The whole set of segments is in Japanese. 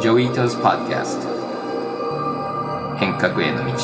ジョイトズ・ポッドキャスト変革への道。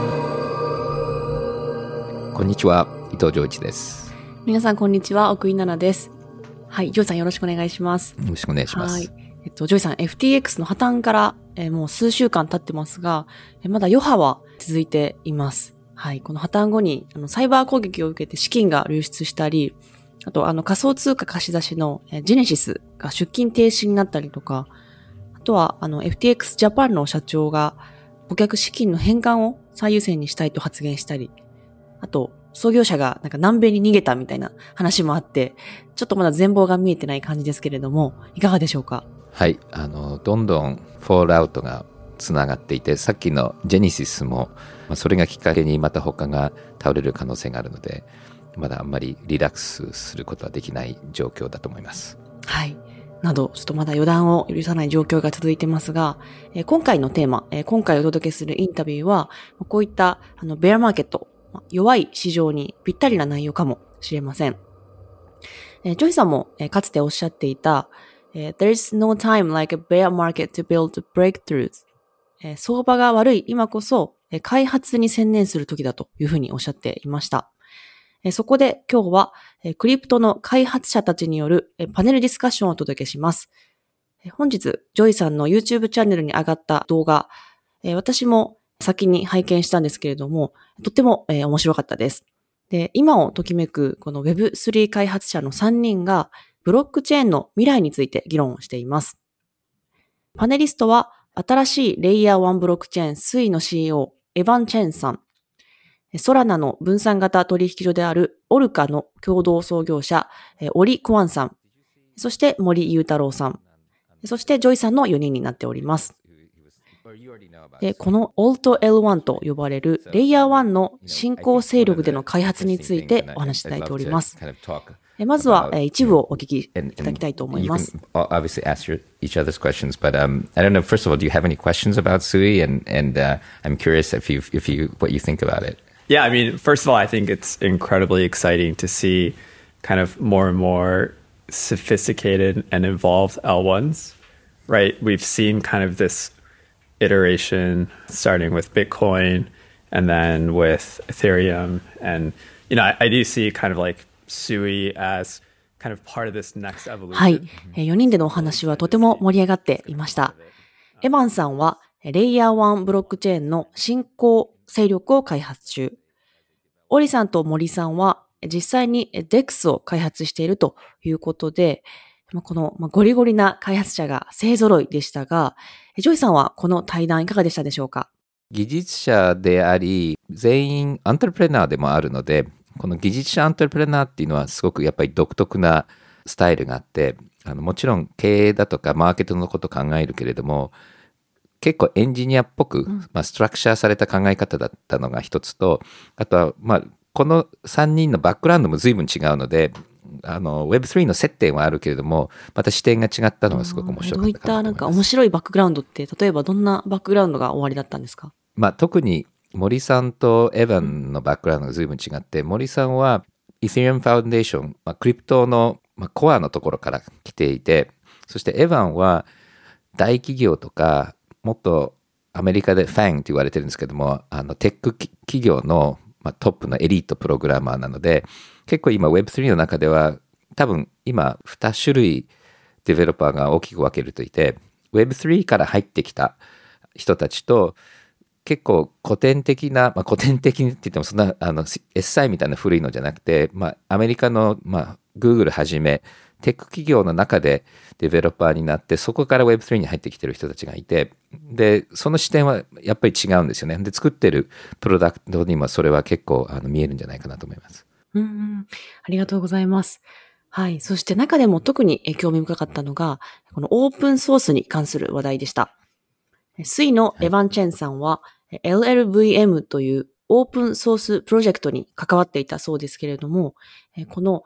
こんにちは、伊藤浄一です。 皆さんこんにちは、奥井奈々です。はい、ジョイさんよろしくお願いします。 よろしくお願いします。 はい、ジョイさん FTX の破綻から、もう数週間経ってますが、まだ余波は続いています。はい、この破綻後にサイバー攻撃を受けて資金が流出したり、あと仮想通貨貸し出しのジェネシスが出金停止になったりとか、あとはFTX ジャパンの社長が顧客資金の返還を最優先にしたいと発言したり、あと創業者が南米に逃げたみたいな話もあって、ちょっとまだ全貌が見えてない感じですけれども、いかがでしょうか？ はい、どんどんフォールアウトがつながっていて、さっきのジェネシスも、それがきっかけにまた他が倒れる可能性があるので、まだあんまりリラックスすることはできない状況だと思います。 はい。など、ちょっとまだ予断を許さない状況が続いてますが、今回のテーマ、今回お届けするインタビューは、こういったベアマーケット、弱い市場にぴったりな内容かもしれません。ジョイさんもかつておっしゃっていた、There's no time like a bear market to build breakthroughs。相場が悪い今こそ開発に専念する時だというふうにおっしゃっていました。そこで今日はクリプトの開発者たちによるパネルディスカッションをお届けします。本日、ジョイさんの YouTube チャンネルに上がった動画、私も先に拝見したんですけれども、とっても面白かったです。で、今をときめくこの Web3 開発者の3人がブロックチェーンの未来について議論しています。パネリストは新しいレイヤー1ブロックチェーン SUI の CEO エヴァン・チェンさん、ソラナの分散型取引所であるオルカの共同創業者、オリ・クワンさん、そして森裕太郎さん、そしてジョイさんの4人になっております。で、この AltL1 と呼ばれるレイヤー1の新興勢力での開発についてお話しいただいております。まずは一部をお聞きいただきたいと思います。 Obviously ask each other's questions, but I don't know. First of all, do you have any questions about SUI? And I'm curious if you what you think about it. Yeah, I mean, first of all, I think it's incredibly exciting to see kind of more and more sophisticated and involved L1s, right? We've seen kind of this iteration starting with Bitcoin and then with Ethereum. And, you know, I do see kind of like SUI as kind of part of this next evolution. はい。4人でのお話はとても盛り上がっていました。エヴァンさんはレイヤー1ブロックチェーンの新興勢力を開発中。オリさんと森さんは実際に DEX を開発しているということで、このゴリゴリな開発者が勢揃いでしたが、ジョイさんはこの対談いかがでしたでしょうか？ 技術者であり、全員アントレプレナーでもあるので、この技術者アントレプレナーっていうのはすごくやっぱり独特なスタイルがあって、もちろん経営だとかマーケットのことを考えるけれども、結構エンジニアっぽく、ストラクチャーされた考え方だったのが一つと、あとは、この3人のバックグラウンドも随分違うので、Web3 の接点はあるけれども、また視点が違ったのがすごく面白かったかなと思います。 どういったなんか面白いバックグラウンドって、例えばどんなバックグラウンドがおありだったんですか？ 特に森さんとエヴァンのバックグラウンドが随分違って、森さんは Ethereum Foundation、クリプトのコアのところから来ていて、そしてエヴァンは大企業とか、もっとアメリカでFANGって言われてるんですけども、テック企業の、トップのエリートプログラマーなので、結構今 Web3 の中では多分今2種類デベロッパーが大きく分けるといて、Web3 から入ってきた人たちと、結構古典的な、古典的にって言ってもそんなSI みたいな古いのじゃなくて、アメリカの、Google はじめテック企業の中でデベロッパーになって、そこから Web3 に入ってきてる人たちがいて、でその視点はやっぱり違うんですよね。で作ってるプロダクトにもそれは結構見えるんじゃないかなと思います。 ありがとうございます。はい。そして中でも特に興味深かったのが、このオープンソースに関する話題でした。SUIのエヴァン・チェンさんは、LLVM というオープンソースプロジェクトに関わっていたそうですけれども、この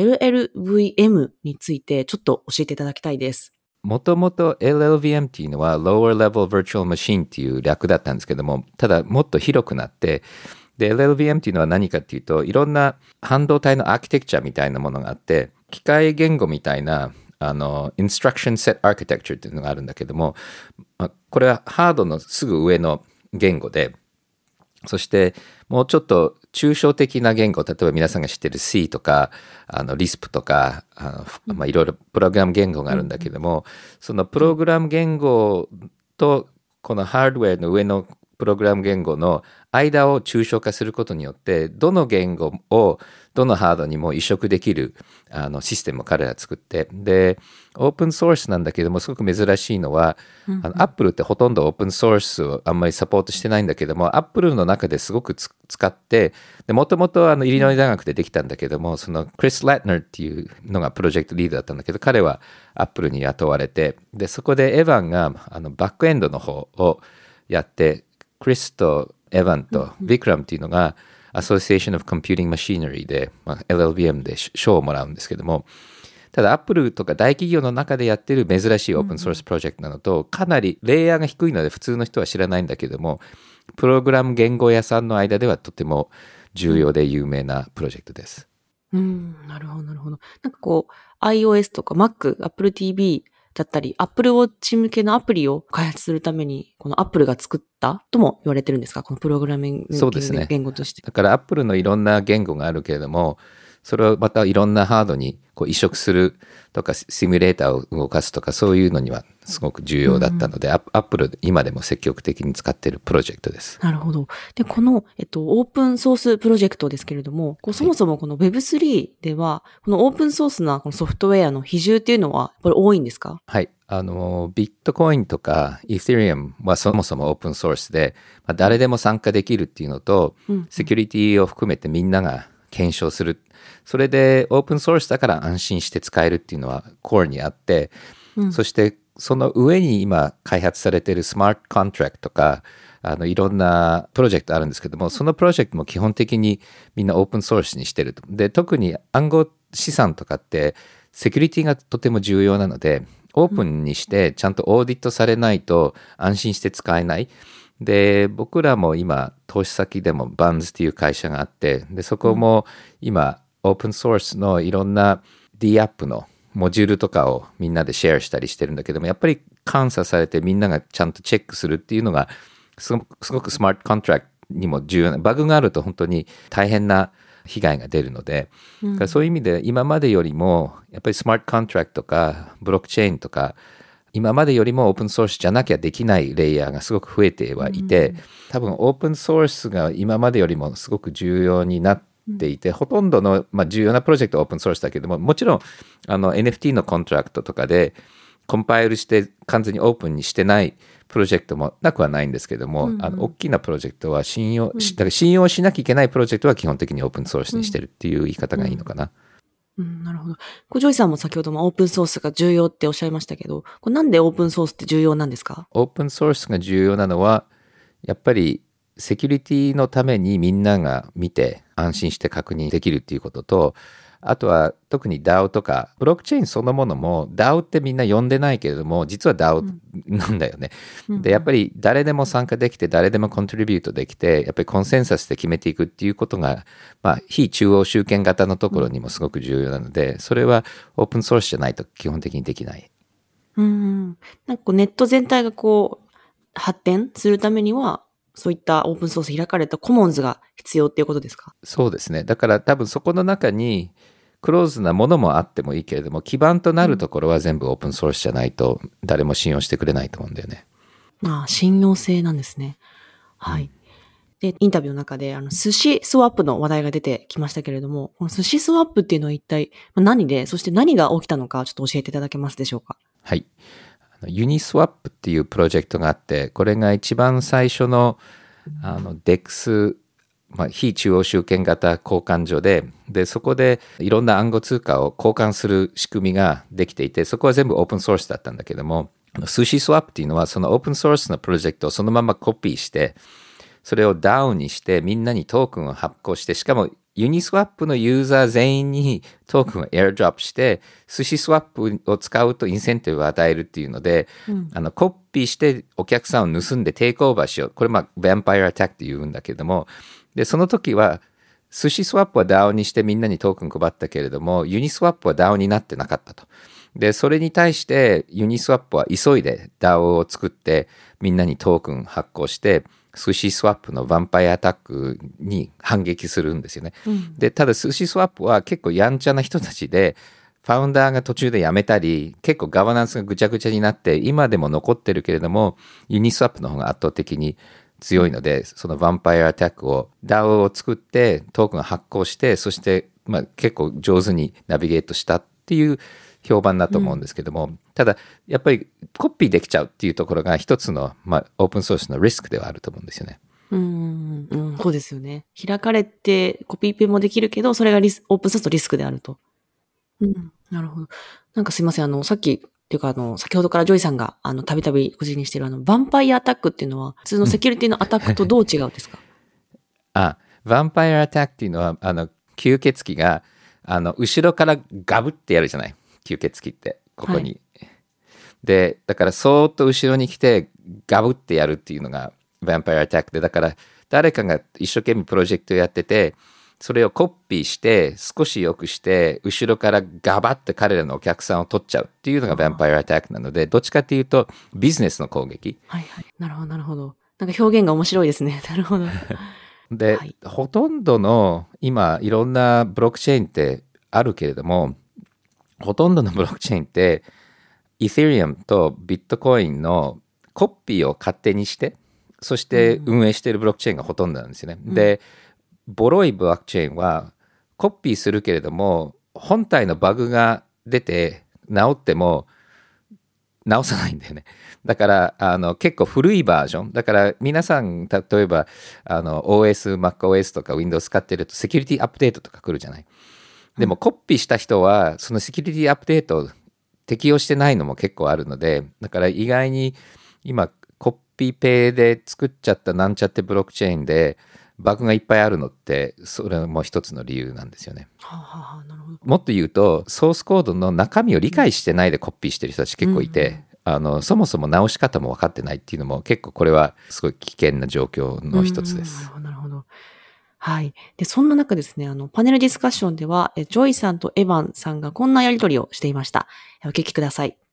LLVM についてちょっと教えていただきたいです。 もともと LLVM っていうのは Lower Level Virtual Machine っていう略だったんですけども、ただもっと広くなって、で LLVM っていうのは何かっていうと、いろんな半導体のアーキテクチャみたいなものがあって、機械言語みたいな Instruction Set Architecture っていうのがあるんだけども、これはハードのすぐ上の言語で、そしてもうちょっと抽象的な言語、例えば皆さんが知ってる C とかLisp とかいろいろプログラム言語があるんだけども、そのプログラム言語とこのハードウェアの上のプログラム言語の間を抽象化することによって、どの言語をどのハードにも移植できるシステムを彼ら作って、でオープンソースなんだけども、すごく珍しいのは、アップルってほとんどオープンソースをあんまりサポートしてないんだけども、アップルの中ですごく使って、もともとイリノイ大学でできたんだけども、そのクリス・ラッナーっていうのがプロジェクトリーダーだったんだけど、彼はアップルに雇われて、でそこでエヴァンがバックエンドの方をやって、クリスとエヴァンとビクラムっていうのがAssociation of Computing Machinery で、LLVM で賞をもらうんですけども、ただアップルとか大企業の中でやってる珍しいオープンソースプロジェクトなのと、かなりレイヤーが低いので普通の人は知らないんだけども、プログラム言語屋さんの間ではとても重要で有名なプロジェクトです。 なるほどなるほど。なんかこう iOS とか Mac、Apple TVだったり、Apple Watch 向けのアプリを開発するために、この Apple が作ったとも言われてるんですか？このプログラミング言語として。 だから Apple のいろんな言語があるけれども、それをまたいろんなハードにこう移植するとか、シミュレーターを動かすとか、そういうのにはすごく重要だったので、Apple 今でも積極的に使っているプロジェクトです。 なるほど。で、この、オープンソースプロジェクトですけれども、そもそもこの Web3 では、このオープンソースなこのソフトウェアの比重っていうのは、これ多いんですか？ はい。ビットコインとかイーセリアムはそもそもオープンソースで、誰でも参加できるっていうのと、セキュリティを含めてみんなが検証する。それでオープンソースだから安心して使えるっていうのはコアにあって、そしてその上に今開発されているスマートコントラクトとか、いろんなプロジェクトあるんですけども、そのプロジェクトも基本的にみんなオープンソースにしてると。で、特に暗号資産とかってセキュリティがとても重要なので、オープンにしてちゃんとオーディットされないと安心して使えない。で、僕らも今投資先でもバンズっていう会社があって、でそこも今オープンソースのいろんな D アップのモジュールとかをみんなでシェアしたりしてるんだけども、やっぱり監査されてみんながちゃんとチェックするっていうのがすごくスマートコントラクトにも重要な、バグがあると本当に大変な被害が出るので、そういう意味で今までよりもやっぱりスマートコントラクトとかブロックチェーンとか今までよりもオープンソースじゃなきゃできないレイヤーがすごく増えてはいて、多分オープンソースが今までよりもすごく重要になっていて、ほとんどの、重要なプロジェクトはオープンソースだけども、もちろんNFT のコントラクトとかでコンパイルして完全にオープンにしてないプロジェクトもなくはないんですけども、大きなプロジェクトは信用しなきゃいけないプロジェクトは基本的にオープンソースにしてるっていう言い方がいいのかな。 なるほど。ジョイさんも先ほどもオープンソースが重要っておっしゃいましたけど、なんでオープンソースって重要なんですか？ オープンソースが重要なのは、やっぱりセキュリティのためにみんなが見て安心して確認できるっていうことと、あとは特に DAO とかブロックチェーンそのものも DAO ってみんな呼んでないけれども実は DAO なんだよね。でやっぱり誰でも参加できて誰でもコントリビュートできてやっぱりコンセンサスで決めていくっていうことが、非中央集権型のところにもすごく重要なので、それはオープンソースじゃないと基本的にできない。 なんかネット全体が発展するためにはそういったオープンソース開かれたコモンズが必要っていうことですか？ そうですね。だから多分そこの中にクローズなものもあってもいいけれども、基盤となるところは全部オープンソースじゃないと誰も信用してくれないと思うんだよね。 信用性なんですね。はい。で、インタビューの中で寿司スワップの話題が出てきましたけれども、この寿司スワップっていうのは一体何で、そして何が起きたのかちょっと教えていただけますでしょうか？ はい。ユニスワップっていうプロジェクトがあって、これが一番最初のDEX、非中央集権型交換所で、そこでいろんな暗号通貨を交換する仕組みができていて、そこは全部オープンソースだったんだけども、寿司スワップっていうのはそのオープンソースのプロジェクトをそのままコピーして、それを DAO にしてみんなにトークンを発行して、しかもユニスワップのユーザー全員にトークンをエアドロップして、寿司スワップを使うとインセンティブを与えるっていうので、コピーしてお客さんを盗んでテイクオーバーしよう。これヴァンパイアアタックって言うんだけども、でその時は寿司スワップは DAO にしてみんなにトークン配ったけれども、ユニスワップは DAO になってなかったと。 で、それに対してユニスワップは急いで DAO を作ってみんなにトークン発行して寿司スワップのヴァンパイアアタックに反撃するんですよね。で、ただ寿司スワップは結構やんちゃな人たちで、ファウンダーが途中で辞めたり、結構ガバナンスがぐちゃぐちゃになって、今でも残ってるけれども、ユニスワップの方が圧倒的に強いので、そのヴァンパイアアタックを DAO を作ってトークン発行して、そして結構上手にナビゲートしたっていう評判だと思うんですけども、ただやっぱりコピーできちゃうっていうところが一つの、オープンソースのリスクではあると思うんですよね。 そうですよね。開かれてコピーペもできるけど、それがオープンソースのリスクであると。なるほど。なんかすいません。さっきっていうか先ほどからジョイさんがたびたびご示にしているヴァンパイアアタックっていうのは普通のセキュリティのアタックとどう違うんですか？ ヴァンパイアアタックっていうのは吸血鬼が後ろからガブってやるじゃない、吸血鬼ってここに、はい、でだからそーっと後ろに来てガブってやるっていうのがヴァンパイアアタックで、だから誰かが一生懸命プロジェクトやってて、それをコピーして少し良くして後ろからガバッて彼らのお客さんを取っちゃうっていうのがヴァンパイアアタックなので、どっちかっていうとビジネスの攻撃。 はいはい。なるほどなるほど。なんか表現が面白いですね。なるほど。 で、はい、ほとんどの今いろんなブロックチェーンってあるけれども、ほとんどのブロックチェーンってイーセリアムとビットコインのコピーを勝手にして、そして運営しているブロックチェーンがほとんどなんですよね。で、ボロいブロックチェーンはコピーするけれども本体のバグが出て直っても直さないんだよね。だから結構古いバージョンだから、皆さん例えばOS、MacOS とか Windows 使ってるとセキュリティアップデートとか来るじゃない。でもコピーした人はそのセキュリティアップデート適用してないのも結構あるので、だから意外に今コピペで作っちゃったなんちゃってブロックチェーンでバグがいっぱいあるのって、それも一つの理由なんですよね。 なるほど。 もっと言うとソースコードの中身を理解してないでコピーしてる人たち結構いて、そもそも直し方も分かってないっていうのも結構これはすごい危険な状況の一つです。 なるほど。はい。で、そんな中ですね、パネルディスカッションでは、ジョイさんとエヴァンさんがこんなやり取りをしていました。お聞きください。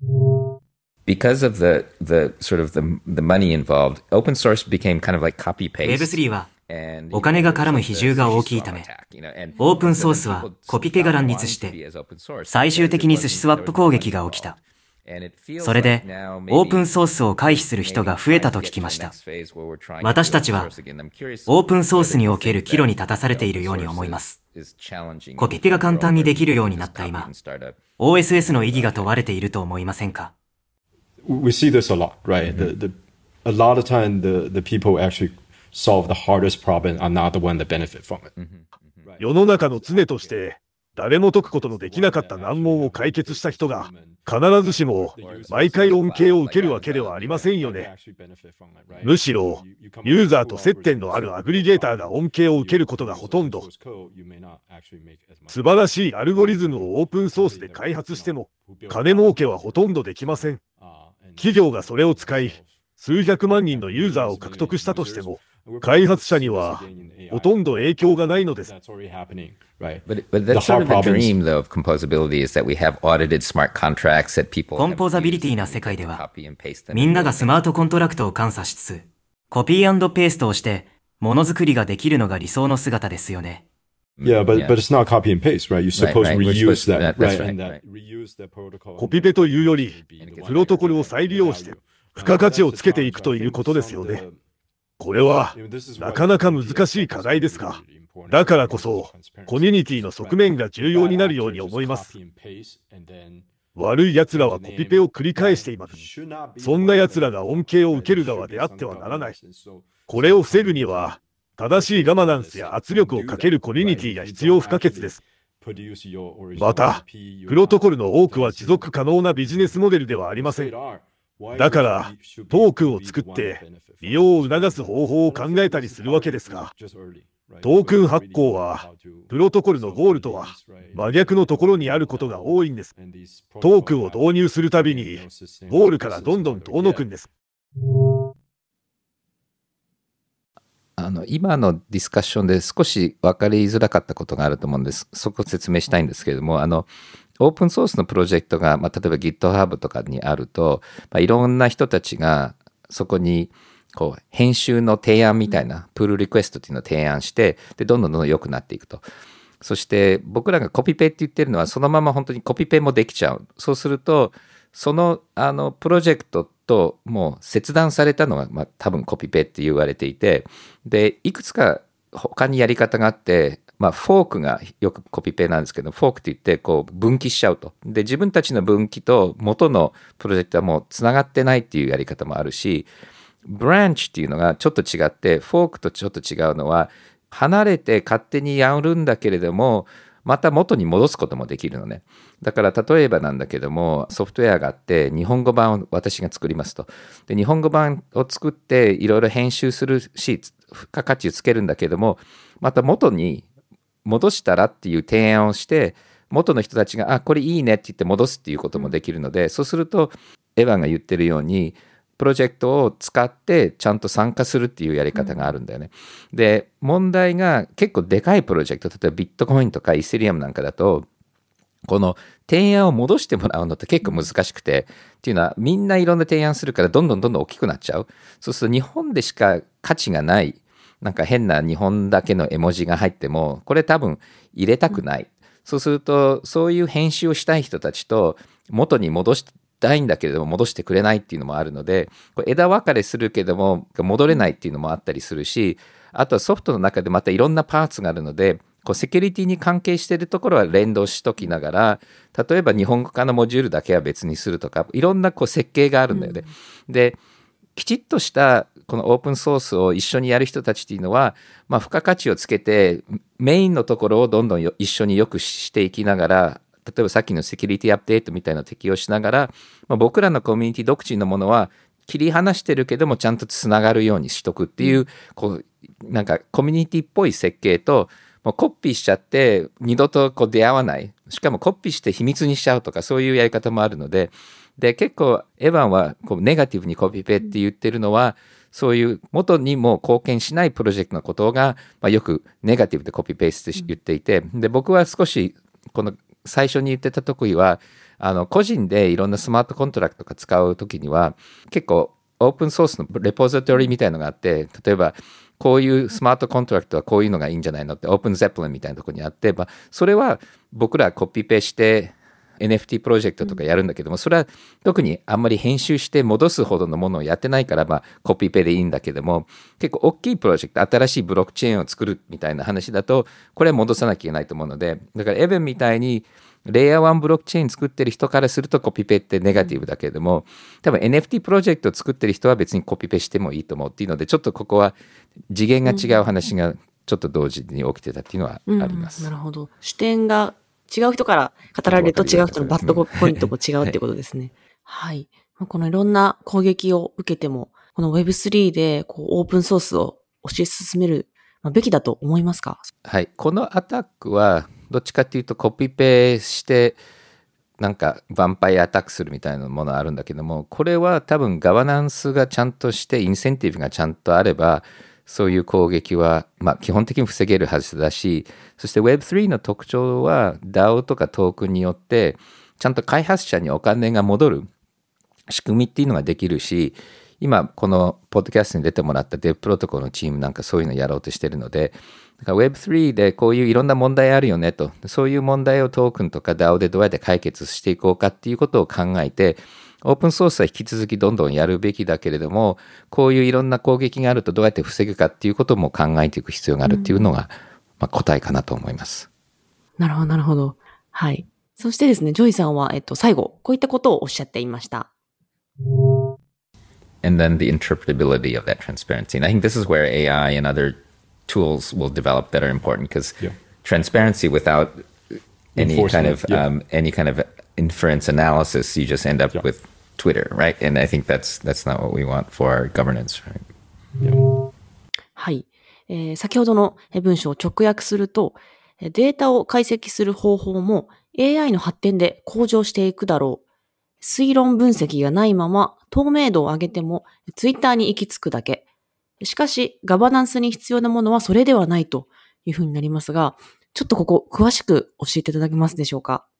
Because of the sort of the money involved, open source became kind of like copy paste. Web3 はお金が絡む比重が大きいため、オープンソースはコピペが乱立して、最終的に寿司スワップ攻撃が起きた。それで、オープンソースを回避する人が増えたと聞きました。私たちは、オープンソースにおける岐路に立たされているように思います。コピペが簡単にできるようになった今、OSS の意義が問われていると思いませんか？ We see this a lot, right? A lot of time the people actually solve the hardest problem are not the one that benefit from it. 世の中の常として誰も解くことのできなかった難問を解決した人が必ずしも毎回恩恵を受けるわけではありませんよね。むしろユーザーと接点のあるアグリゲーターが恩恵を受けることがほとんど。素晴らしいアルゴリズムをオープンソースで開発しても金儲けはほとんどできません。企業がそれを使い数百万人のユーザーを獲得したとしても開発者にはほとんど影響がないのです。 But that's sort of the dream, though, of composability is that we have audited smart contracts that people. コンポーザビリティな世界では、みんながスマートコントラクトを監査しつつ、コピー&ペーストをして、ものづくりができるのが理想の姿ですよね。 Yeah, but it's not copy and paste, right? You're supposed to reuse that, right? And that reuse that protocol. コピペというより、プロトコルを再利用して、付加価値をつけていくということですよね。これは、なかなか難しい課題ですが、だからこそ、コミュニティの側面が重要になるように思います。悪い奴らはコピペを繰り返しています。そんな奴らが恩恵を受ける側であってはならない。これを防ぐには、正しいガバナンスや圧力をかけるコミュニティが必要不可欠です。また、プロトコルの多くは持続可能なビジネスモデルではありません。だから、トークンを作って、利用を促す方法を考えたりするわけですが、トークン発行は、プロトコルのゴールとは真逆のところにあることが多いんです。トークンを導入するたびに、ゴールからどんどん遠のくんです。 今のディスカッションで少し分かりづらかったことがあると思うんです。そこを説明したいんですけれども、 オープンソースのプロジェクトが、例えば GitHub とかにあると、いろんな人たちがそこにこう編集の提案みたいなプールリクエストっていうのを提案して、でどんどん良くなっていくと。そして僕らがコピペって言ってるのはそのまま本当にコピペもできちゃう。そうするとそのプロジェクトともう切断されたのが、多分コピペって言われていて、でいくつか他にやり方があって、フォークがよくコピペなんですけど、フォークって言ってこう分岐しちゃうと。で自分たちの分岐と元のプロジェクトはもうつながってないっていうやり方もあるし、ブランチっていうのがちょっと違って、フォークとちょっと違うのは離れて勝手にやるんだけれども、また元に戻すこともできるのね。だから例えばなんだけども、ソフトウェアがあって日本語版を私が作りますと。で日本語版を作っていろいろ編集するし、付加価値をつけるんだけども、また元に戻したらっていう提案をして、元の人たちがこれいいねって言って戻すっていうこともできるので、そうするとエヴァンが言ってるようにプロジェクトを使ってちゃんと参加するっていうやり方があるんだよね。で問題が結構でかいプロジェクト、例えばビットコインとかイーセリアムなんかだと、この提案を戻してもらうのって結構難しくて、っていうのはみんないろんな提案するからどんどん大きくなっちゃう。そうすると日本でしか価値がない、なんか変な日本だけの絵文字が入ってもこれ多分入れたくない。そうするとそういう編集をしたい人たちと元に戻したいんだけれども戻してくれないっていうのもあるので、これ枝分かれするけども戻れないっていうのもあったりするし、あとはソフトの中でまたいろんなパーツがあるので、こうセキュリティに関係しているところは連動しときながら、例えば日本語化のモジュールだけは別にするとか、いろんなこう設計があるんだよね。できちっとしたこのオープンソースを一緒にやる人たちっていうのは、付加価値をつけてメインのところをどんどん一緒によくしていきながら、例えばさっきのセキュリティアップデートみたいなのを適用しながら、僕らのコミュニティ独自のものは切り離してるけどもちゃんとつながるようにしとくっていう、こうなんかコミュニティっぽい設計と、もうコピーしちゃって二度とこう出会わない、しかもコピーして秘密にしちゃうとか、そういうやり方もあるので、で結構エヴァンはこうネガティブにコピペって言ってるのは、そういう元にも貢献しないプロジェクトのことが、よくネガティブでコピペして言っていて、で僕は少しこの最初に言ってた時は個人でいろんなスマートコントラクトとか使う時には結構オープンソースのレポジトリみたいのがあって、例えばこういうスマートコントラクトはこういうのがいいんじゃないのってオープンゼップリンみたいなところにあって、それは僕らコピペして NFT プロジェクトとかやるんだけども、それは特にあんまり編集して戻すほどのものをやってないから、コピペでいいんだけども、結構大きいプロジェクト、新しいブロックチェーンを作るみたいな話だとこれは戻さなきゃいけないと思うので、だからエヴェンみたいにレイヤー1ブロックチェーン作ってる人からするとコピペってネガティブだけれども、多分 NFT プロジェクトを作ってる人は別にコピペしてもいいと思うっていうので、ちょっとここは次元が違う話がちょっと同時に起きてたっていうのはあります。 なるほど。視点が違う人から語られると違う人のバッドポイントも違うっていうことですね。はい。このいろんな攻撃を受けても、この Web3 でこうオープンソースを推し進めるべきだと思いますか？ はい。このアタックはどっちかっていうとコピペしてなんかヴァンパイアアタックするみたいなものあるんだけども、これは多分ガバナンスがちゃんとしてインセンティブがちゃんとあれば、そういう攻撃は基本的に防げるはずだし、そして Web3 の特徴は DAO とかトークンによってちゃんと開発者にお金が戻る仕組みっていうのができるし、今このポッドキャストに出てもらったデブプロトコルのチームなんかそういうのやろうとしてるので、だから Web3 でこういういろんな問題あるよねと、そういう問題をトークンとか DAO でどうやって解決していこうかっていうことを考えて、オープンソースは引き続きどんどんやるべきだけれども、こういういろんな攻撃があるとどうやって防ぐかっていうことも考えていく必要があるっていうのが、答えかなと思います。 なるほど、なるほど。はい。そしてですね、ジョイさんは、最後、こういったことをおっしゃっていました。 And then the interpretability of that transparency. And I think this is where AI and other tools will develop that are important, because transparency without any kind of inference analysis, you just end up with Twitter, right? And I think that's not what we want for our governance, right? はい。先ほどの文章を直訳すると、データを解析する方法も AI の発展で向上していくだろう。推論分析がないまま透明度を上げてもツイッターに行き着くだけ。しかしガバナンスに必要なものはそれではないというふうになりますが、ちょっとここ詳しく教えていただけますでしょうか？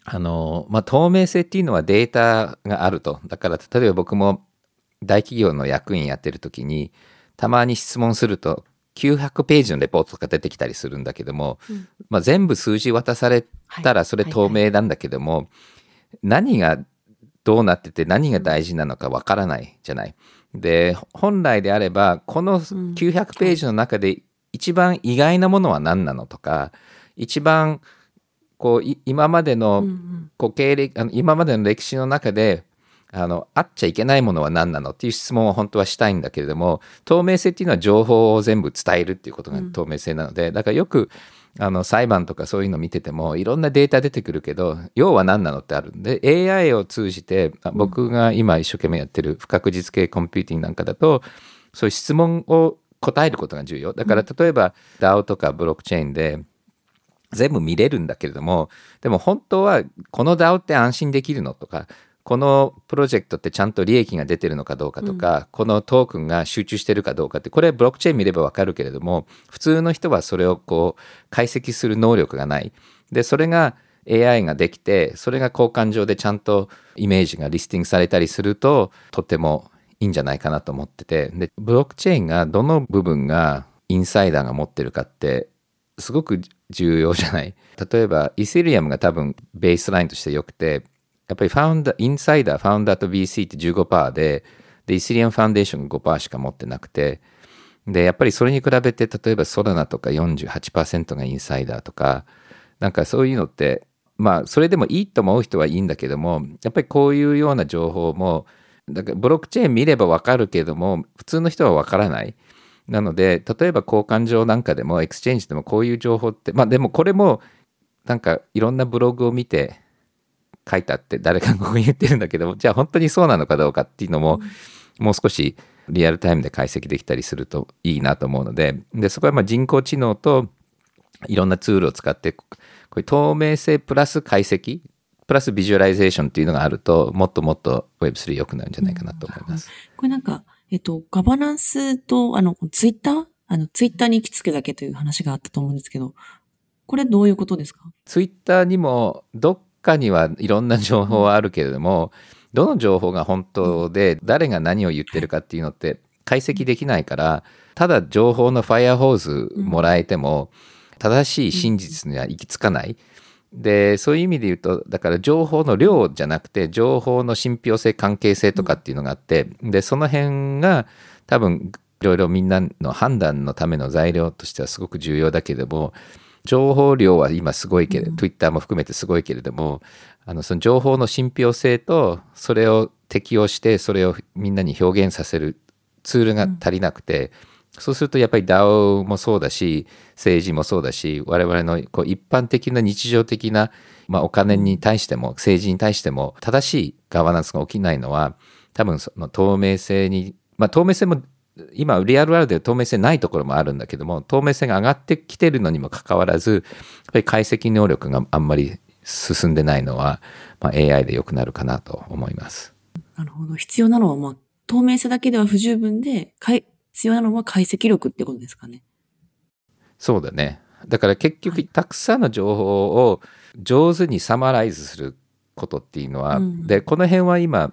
透明性っていうのはデータがあると。だから例えば僕も大企業の役員やってる時にたまに質問すると900ページのレポートとか出てきたりするんだけども、全部数字渡されたらそれ透明なんだけども、何がどうなってて何が大事なのかわからないじゃない。で、本来であればこの900ページの中で一番意外なものは何なのとか、一番こう今までの経歴、今までの歴史の中であっちゃいけないものは何なのっていう質問を本当はしたいんだけれども、透明性っていうのは情報を全部伝えるっていうことが透明性なので、だからよく裁判とかそういうの見ててもいろんなデータ出てくるけど要は何なのってあるんで、 AI を通じて僕が今一生懸命やってる不確実系コンピューティングなんかだとそういう質問を答えることが重要だから、例えば DAO とかブロックチェーンで全部見れるんだけれども、でも本当はこの DAO って安心できるのとか、このプロジェクトってちゃんと利益が出てるのかどうかとか、このトークンが集中してるかどうかって、これブロックチェーン見ればわかるけれども、普通の人はそれをこう解析する能力がない。で、それが AI ができて、それが交換上でちゃんとイメージがリスティングされたりすると、とてもいいんじゃないかなと思ってて、で、ブロックチェーンがどの部分がインサイダーが持ってるかってすごく重要じゃない。例えばイーセリアムが多分ベースラインとして良くて、やっぱりインサイダー、ファウンダーと VC って 15% で、イーセリアムファウンデーションが 5% しか持ってなくて、で、やっぱりそれに比べて、例えばソラナとか 48% がインサイダーとか、なんかそういうのって、それでもいいと思う人はいいんだけども、やっぱりこういうような情報も、だからブロックチェーン見ればわかるけども、普通の人はわからない。なので、例えば交換上なんかでも、エクスチェンジでもこういう情報って、でもこれも、なんかいろんなブログを見て、書いたって誰かがここに言ってるんだけども、じゃあ本当にそうなのかどうかっていうのも、もう少しリアルタイムで解析できたりするといいなと思うので、そこは人工知能といろんなツールを使って、こういう透明性プラス解析プラスビジュアライゼーションっていうのがあると、もっともっと Web3 良くなるんじゃないかなと思います。 これなんか、ガバナンスと、ツイッターに行き着くだけという話があったと思うんですけど、これどういうことですか？ ツイッターにもどっかにはいろんな情報はあるけれども、どの情報が本当で誰が何を言ってるかっていうのって解析できないから、ただ情報のファイアホーズもらえても正しい真実には行き着かない。で、そういう意味で言うと、だから情報の量じゃなくて情報の信憑性関係性とかっていうのがあって、でその辺が多分いろいろみんなの判断のための材料としてはすごく重要だけれども、情報量は今すごいけれど、Twitter も含めてすごいけれども、その情報の信憑性とそれを適用してそれをみんなに表現させるツールが足りなくて、そうするとやっぱり DAO もそうだし、政治もそうだし、我々のこう一般的な日常的な、お金に対しても政治に対しても正しいガバナンスが起きないのは、多分その透明性に、透明性も今リアルワールドで透明性ないところもあるんだけども、透明性が上がってきてるのにもかかわらず、やっぱり解析能力があんまり進んでないのは、AI で良くなるかなと思います。 なるほど。必要なのは、透明性だけでは不十分で、必要なのは解析力ってことですかね。 そうだね。だから結局、たくさんの情報を上手にサマライズすることっていうのは、でこの辺は今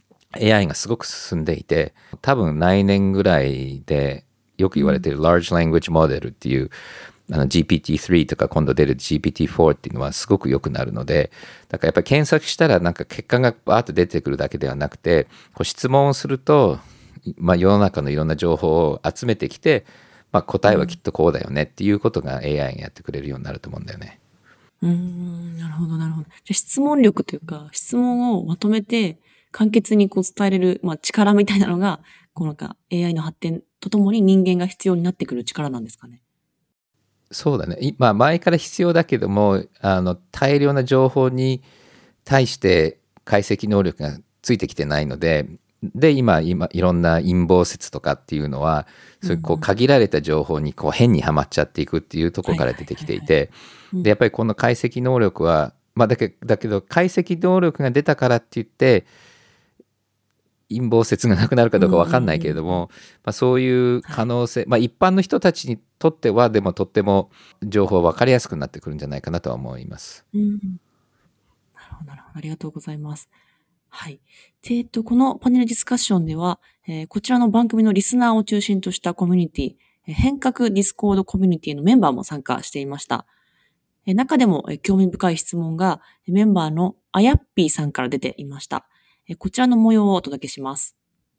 AI がすごく進んでいて、多分来年ぐらいでよく言われている Large Language Model っていうGPT-3 とか今度出る GPT-4 っていうのはすごく良くなるので、だからやっぱり検索したらなんか結果がバーッと出てくるだけではなくて、こう質問をすると、世の中のいろんな情報を集めてきて、答えはきっとこうだよねっていうことが AI がやってくれるようになると思うんだよね。 なるほど、なるほど。じゃあ質問力というか、質問をまとめて簡潔にこう伝えれる、力みたいなのが、こうなんか AI の発展とともに人間が必要になってくる力なんですかね。 そうだね。前から必要だけども、大量な情報に対して解析能力がついてきてないので、今いろんな陰謀説とかっていうのは、そういうこう限られた情報にこう変にはまっちゃっていくっていうところから出てきていて、でやっぱりこの解析能力は、だけど解析能力が出たからって言って陰謀説がなくなるかどうか分かんないけれども、そういう可能性、一般の人たちにとってはでもとっても情報分かりやすくなってくるんじゃないかなとは思います。 なるほど、なるほど。ありがとうございます。はい。で、このパネルディスカッションでは、こちらの番組のリスナーを中心としたコミュニティ、変革ディスコードコミュニティのメンバーも参加していました。中でも興味深い質問がメンバーのあやっぴーさんから出ていました。こちらの模様をお届けします。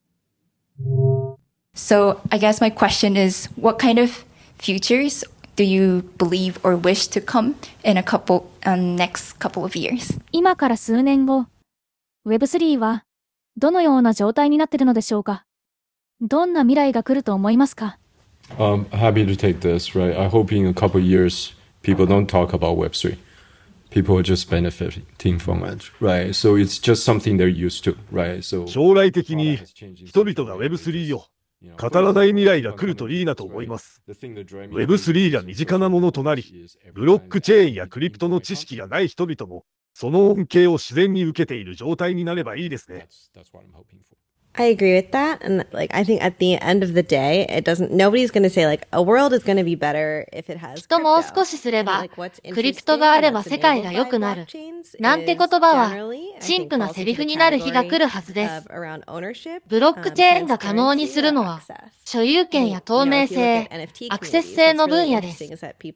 So, I guess my question is, what kind of futures do you believe or wish to come in next couple of years? 今から数年後、Web3 はどのような状態になっているのでしょうか？どんな未来が来ると思いますか？ Happy to take this, right? I hope in a couple of years, people don't talk about Web3. People are just benefiting from it, right? So it's just something they're used to, right? So 将来的に人々が Web3 を語らない未来が来るといいなと思います。Web3 が身近なものとなり、ブロックチェーンやクリプトの知識がない人々も、その恩恵を自然に受けている状態になればいいですね。 I agree with that. And I think at the end of the day, nobody's going to say a world is going to be better if it has きっともう少しすれば、クリプトがあれば世界が良くなる。なんて言葉は、陳腐なセリフになる日が来るはずです。ブロックチェーンが可能にするのは、所有権や透明性、アクセス性の分野です。ブロ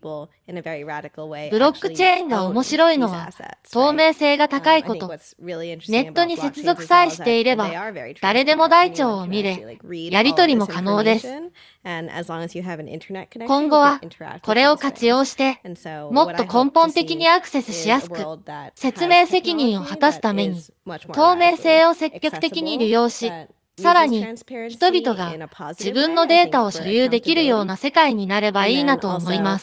ックチェーンが面白いのは、透明性が高いこと。ネットに接続さえしていれば、誰でも台帳を見れ、やり取りも可能です。今後は、これを活用して、もっと根本的にアクセスしやすく、説明責任を果たすために、透明性を積極的に利用し、さらに、人々が自分のデータを所有できるような世界になればいいなと思います。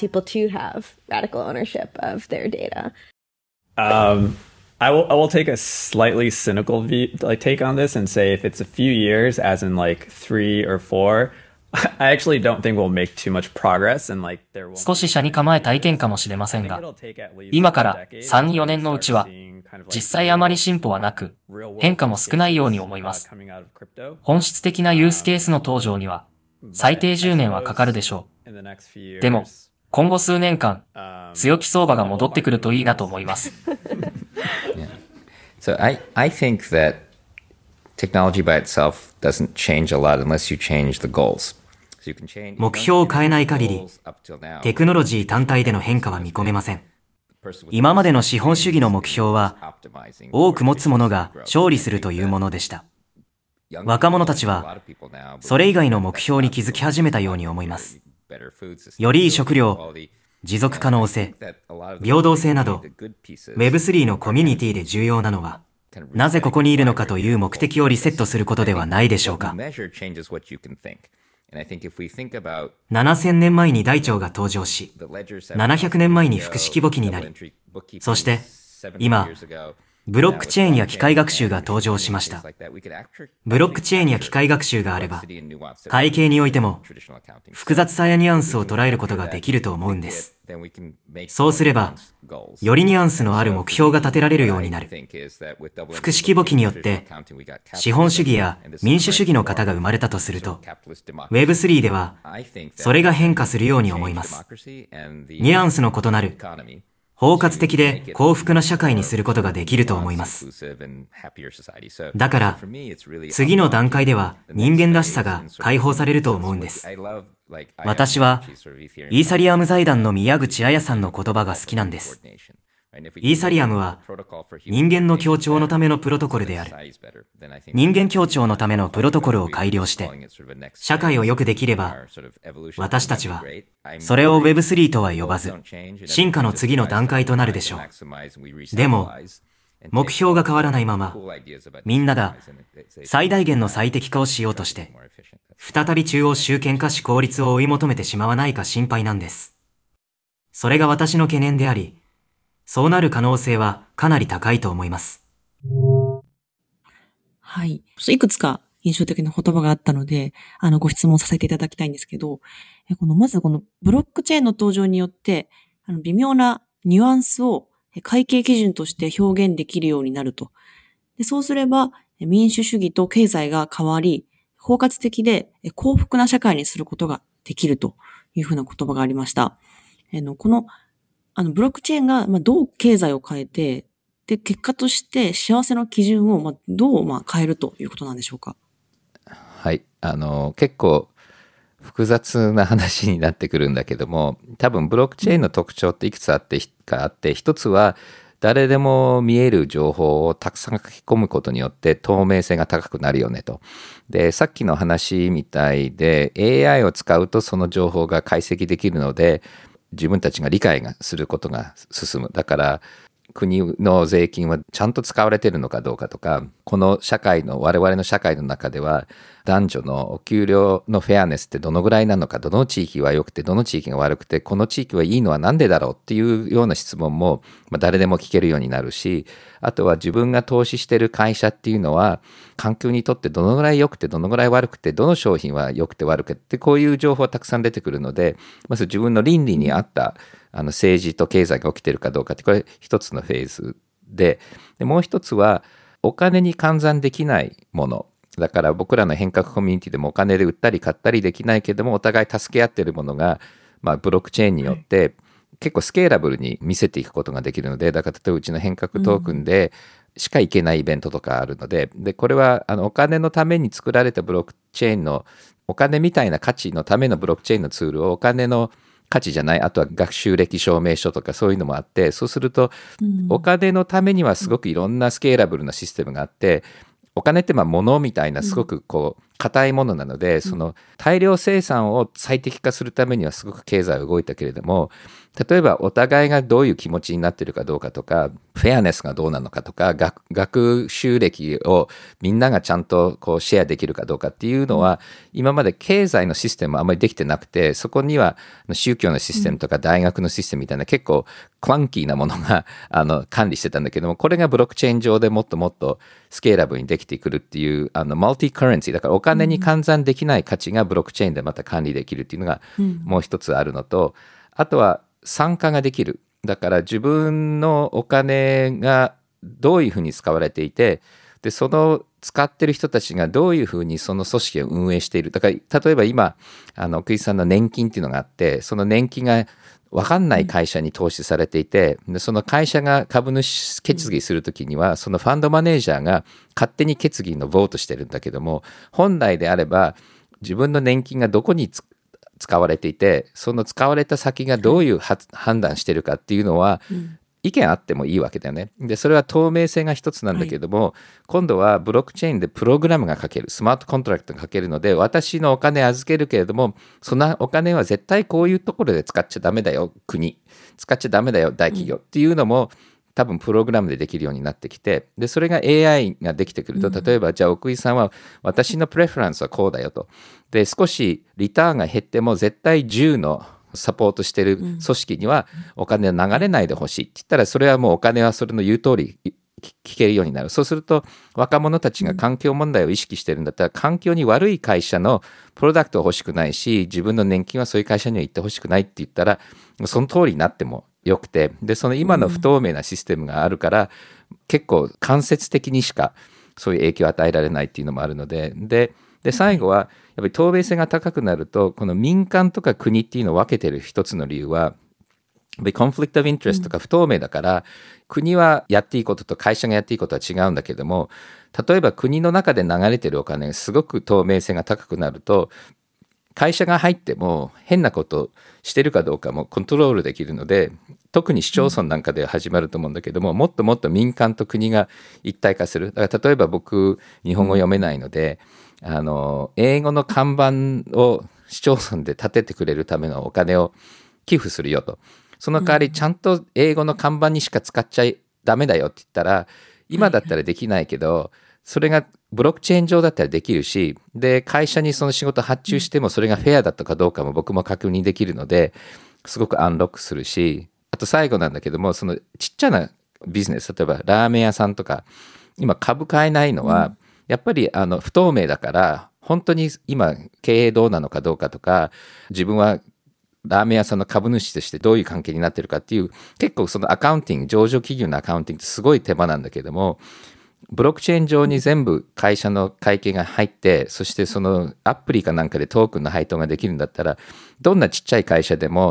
I will take a slightly cynical take on this and say if it's a few years, as in 3 or 4, I actually don't think we'll make too much progress and there will. 少し車に構えた意見かもしれませんが、今から3、4年のうちは、実際あまり進歩はなく、変化も少ないように思います。本質的なユースケースの登場には、最低10年はかかるでしょう。でも、今後数年間、強気相場が戻ってくるといいなと思います。 So I think that technology by itself doesn't change a lot unless you change the goals. 目標を変えない限り、テクノロジー単体での変化は見込めません。今までの資本主義の目標は、多く持つ者が勝利するというものでした。若者たちは、それ以外の目標に気づき始めたように思います。よりいい食料、持続可能性、平等性など、Web3 のコミュニティで重要なのは、なぜここにいるのかという目的をリセットすることではないでしょうか。7000年前に台帳が登場し、700年前に複式簿記になり、そして、今、ブロックチェーンや機械学習が登場しました。ブロックチェーンや機械学習があれば、会計においても、複雑さやニュアンスを捉えることができると思うんです。そうすれば、よりニュアンスのある目標が立てられるようになる。複式簿記によって、資本主義や民主主義の方が生まれたとすると、Web3 では、それが変化するように思います。ニュアンスの異なる、包括的で幸福な社会にすることができると思います。だから、次の段階では人間らしさが解放されると思うんです。私は、イーサリアム財団の宮口彩さんの言葉が好きなんです。イーサリアムは人間の協調のためのプロトコルである。人間協調のためのプロトコルを改良して、社会を良くできれば、私たちは、それを Web3 とは呼ばず、進化の次の段階となるでしょう。でも、目標が変わらないまま、みんなが最大限の最適化をしようとして、再び中央集権化し効率を追い求めてしまわないか心配なんです。それが私の懸念であり、そうなる可能性はかなり高いと思います。 はい。いくつか印象的な言葉があったので、ご質問させていただきたいんですけど、まずこのブロックチェーンの登場によって、微妙なニュアンスを会計基準として表現できるようになると。で、そうすれば、民主主義と経済が変わり、包括的で幸福な社会にすることができるというふうな言葉がありました。このブロックチェーンがどう経済を変えて、 で、結果として幸せの基準をどう変えるということなんでしょうか。 はい。結構複雑な話になってくるんだけども、多分ブロックチェーンの特徴っていくつあって、一つは誰でも見える情報をたくさん書き込むことによって透明性が高くなるよねと。で、さっきの話みたいで AI を使うとその情報が解析できるので、自分たちが理解がすることが進む。だから国の税金はちゃんと使われているのかどうかとか、この我々の社会の中では男女のお給料のフェアネスってどのぐらいなのか、どの地域は良くてどの地域が悪くて、この地域はいいのはなんでだろうっていうような質問も誰でも聞けるようになるし、あとは自分が投資している会社っていうのは環境にとってどのぐらい良くてどのぐらい悪くて、どの商品は良くて悪くて、こういう情報がたくさん出てくるので、まず自分の倫理に合った政治と経済が起きているかどうかって、これ一つのフェーズで、もう一つはお金に換算できないものだから、僕らの変革コミュニティでもお金で売ったり買ったりできないけども、お互い助け合っているものが、ブロックチェーンによって結構スケーラブルに見せていくことができるので、だから例えばうちの変革トークンでしか行けないイベントとかあるので、これはお金のために作られたブロックチェーンのお金みたいな価値のためのブロックチェーンのツールをお金の価値じゃない、あとは学習歴証明書とかそういうのもあって、そうするとお金のためにはすごくいろんなスケーラブルなシステムがあって、お金って物みたいなすごく硬いものなので、その大量生産を最適化するためにはすごく経済は動いたけれども、例えばお互いがどういう気持ちになっているかどうかとか、フェアネスがどうなのかとか、学習歴をみんながちゃんとシェアできるかどうかっていうのは、今まで経済のシステムはあまりできてなくて、そこには宗教のシステムとか大学のシステムみたいな結構クランキーなものが管理してたんだけども、これがブロックチェーン上でもっともっとスケーラブルにできてくるっていうマルティカレンシーだから、お金に換算できない価値がブロックチェーンでまた管理できるっていうのがもう一つあるのと、あとは参加ができる。だから自分のお金がどういうふうに使われていて、でその使ってる人たちがどういうふうにその組織を運営している。だから例えば今奥井さんの年金っていうのがあって、その年金が分かんない会社に投資されていて、でその会社が株主決議するときには、そのファンドマネージャーが勝手に決議のボートしてるんだけども、本来であれば自分の年金がどこに使われていて、その使われた先がどういう判断してるかっていうのは、意見あってもいいわけだよね。でそれは透明性が一つなんだけども、今度はブロックチェーンでプログラムが書ける、スマートコントラクトが書けるので、私のお金預けるけれども、そのお金は絶対こういうところで使っちゃダメだよ、国使っちゃダメだよ、大企業っていうのも多分プログラムでできるようになってきて、でそれが AI ができてくると、例えばじゃあ奥井さんは私のプレフェランスはこうだよと、で少しリターンが減っても絶対10のサポートしてる組織にはお金は流れないでほしいって言ったら、それはもうお金はそれの言う通り聞けるようになる。そうすると若者たちが環境問題を意識してるんだったら、環境に悪い会社のプロダクトは欲しくないし、自分の年金はそういう会社には行ってほしくないって言ったら、その通りになってもよくて、でその今の不透明なシステムがあるから、結構間接的にしかそういう影響を与えられないっていうのもあるので、で最後はやっぱり透明性が高くなると、この民間とか国っていうのを分けてる一つの理由は、コンフリクト・オブ・イントレストとか不透明だから、国はやっていいことと会社がやっていいことは違うんだけども、例えば国の中で流れてるお金がすごく透明性が高くなると、会社が入っても変なことしてるかどうかもコントロールできるので、特に市町村なんかで始まると思うんだけども、もっともっと民間と国が一体化する。だから例えば僕日本語読めないので、英語の看板を市町村で立ててくれるためのお金を寄付するよと。その代わりちゃんと英語の看板にしか使っちゃダメだよって言ったら、今だったらできないけど、それがブロックチェーン上だったらできるし、で会社にその仕事発注してもそれがフェアだったかどうかも僕も確認できるので、すごくアンロックするし、あと最後なんだけども、そのちっちゃなビジネス、例えばラーメン屋さんとか今株買えないのは、やっぱり不透明だから、本当に今経営どうなのかどうかとか、自分はラーメン屋さんの株主としてどういう関係になってるかっていう、結構そのアカウンティング、上場企業のアカウンティングってすごい手間なんだけども、ブロックチェーン上に全部会社の会計が入って、そしてそのアプリかなんかでトークンの配当ができるんだったら、どんなちっちゃい会社でも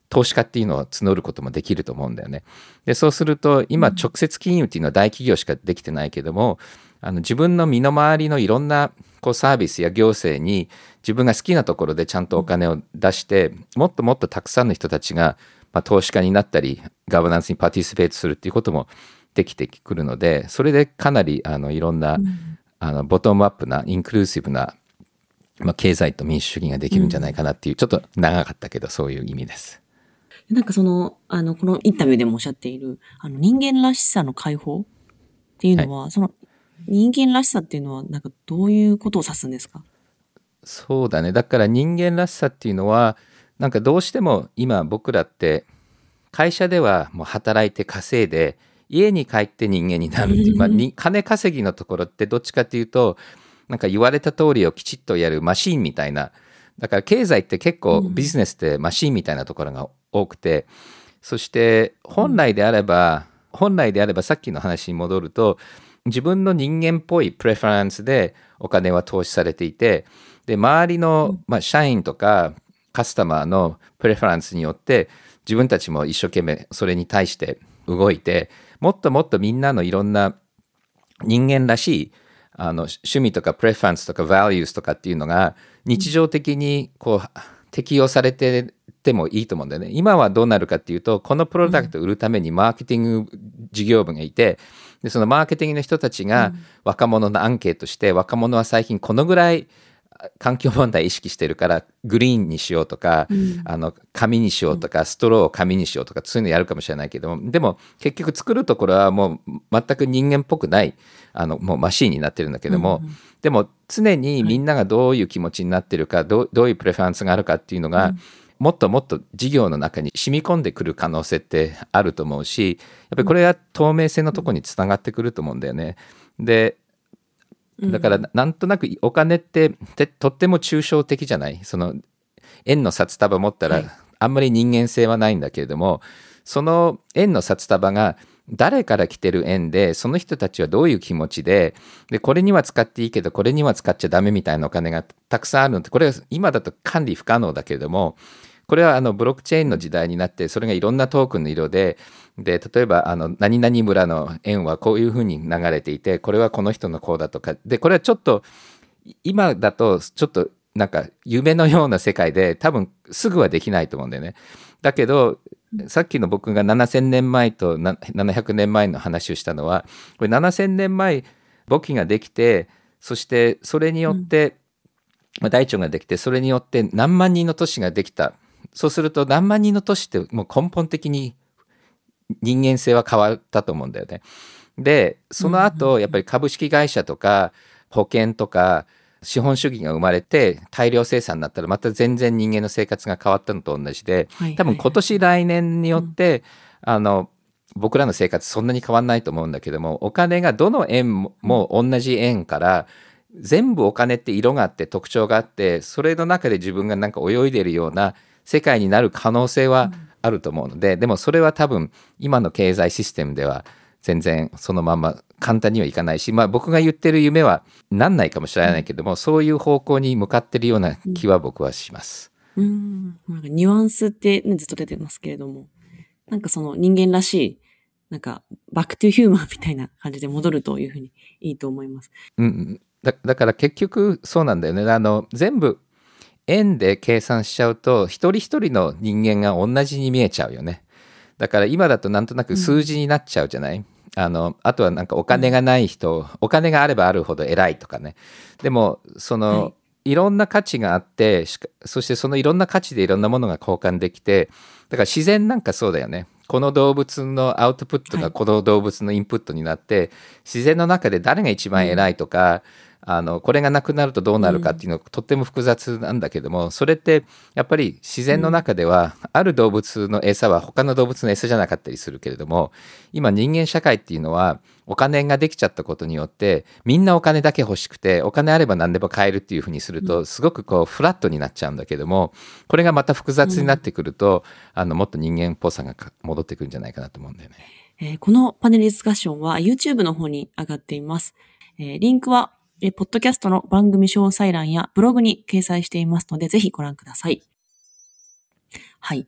投資家っていうのを募ることもできると思うんだよね。で、そうすると今直接金融っていうのは大企業しかできてないけども、自分の身の回りのいろんなこうサービスや行政に自分が好きなところでちゃんとお金を出して、もっともっとたくさんの人たちが、投資家になったりガバナンスにパティシペートするっていうこともできてくるので、それでかなりいろんな、ボトムアップなインクルーシブな、経済と民主主義ができるんじゃないかなっていう、ちょっと長かったけどそういう意味です。 なんかこのインタビューでもおっしゃっている人間らしさの解放っていうのは、その人間らしさっていうのはなんかどういうことを指すんですか？ そうだね。だから人間らしさっていうのはなんかどうしても今僕らって会社ではもう働いて稼いで家に帰って人間になるっていう、金稼ぎのところってどっちかっていうとなんか言われた通りをきちっとやるマシーンみたいな、だから経済って結構ビジネスってマシーンみたいなところが多くて、そして本来であればさっきの話に戻ると自分の人間っぽいプレファレンスでお金は投資されていて、で周りの、社員とかカスタマーのプレファレンスによって自分たちも一生懸命それに対して動いて、もっともっとみんなのいろんな人間らしい趣味とかプレファレンスとかバリューズとかっていうのが日常的にこう適用されててもいいと思うんだよね。今はどうなるかっていうと、このプロダクトを売るためにマーケティング事業部がいて、でそのマーケティングの人たちが若者のアンケートして、若者は最近このぐらい環境問題意識してるからグリーンにしようとか、紙にしようとか、ストローを紙にしようとか、そういうのやるかもしれないけども、でも結局作るところはもう全く人間っぽくないもうマシーンになってるんだけども、でも常にみんながどういう気持ちになってるか、どういうプレファレンスがあるかっていうのが、もっともっと事業の中に染み込んでくる可能性ってあると思うし、やっぱりこれは透明性のところにつながってくると思うんだよね。でだからなんとなくお金ってとっても抽象的じゃない。その円の札束持ったらあんまり人間性はないんだけれども、その円の札束が誰から来てる円で、その人たちはどういう気持ちで、これには使っていいけどこれには使っちゃダメみたいなお金がたくさんあるのって、これは今だと管理不可能だけれども、これはブロックチェーンの時代になって、それがいろんなトークンの色で、例えば何々村の円はこういうふうに流れていて、これはこの人のこうだとかで、これはちょっと今だとちょっとなんか夢のような世界で多分すぐはできないと思うんだよね。だけどさっきの僕が7000年前と700年前の話をしたのは、これ7000年前簿記ができて、そしてそれによって、大腸ができて、それによって何万人の都市ができた。そうすると何万人の都市ってもう根本的に人間性は変わったと思うんだよね。でその後やっぱり株式会社とか保険とか資本主義が生まれて大量生産になったら、また全然人間の生活が変わったのと同じで、多分今年来年によって僕らの生活そんなに変わんないと思うんだけども、お金がどの円も同じ円から全部お金って色があって特徴があって、それの中で自分がなんか泳いでいるような世界になる可能性はあると思うので、でもそれは多分今の経済システムでは全然そのまま簡単にはいかないし、僕が言ってる夢はなんないかもしれないけども、そういう方向に向かってるような気は僕はします。 なんかニュアンスって、ずっと出てますけれども、なんかその人間らしい、なんかバックトゥヒューマンみたいな感じで戻るというふうにいいと思います。 だから結局そうなんだよね。全部円で計算しちゃうと一人一人の人間が同じに見えちゃうよね。だから今だとなんとなく数字になっちゃうじゃない。あとはなんかお金がない人、お金があればあるほど偉いとかね。でもいろんな価値があって、そしてそのいろんな価値でいろんなものが交換できて、だから自然なんかそうだよね。この動物のアウトプットがこの動物のインプットになって、自然の中で誰が一番偉いとか、これがなくなるとどうなるかっていうのがとっても複雑なんだけども、それってやっぱり自然の中ではある動物の餌は他の動物の餌じゃなかったりするけれども、今人間社会っていうのはお金ができちゃったことによってみんなお金だけ欲しくて、お金あれば何でも買えるっていうふうにするとすごくフラットになっちゃうんだけども、これがまた複雑になってくるともっと人間っぽさが戻ってくるんじゃないかなと思うんだよね。 このパネルディスカッションは YouTube の方に上がっています。リンクはポッドキャストの番組詳細欄やブログに掲載していますので、ぜひご覧ください。はい。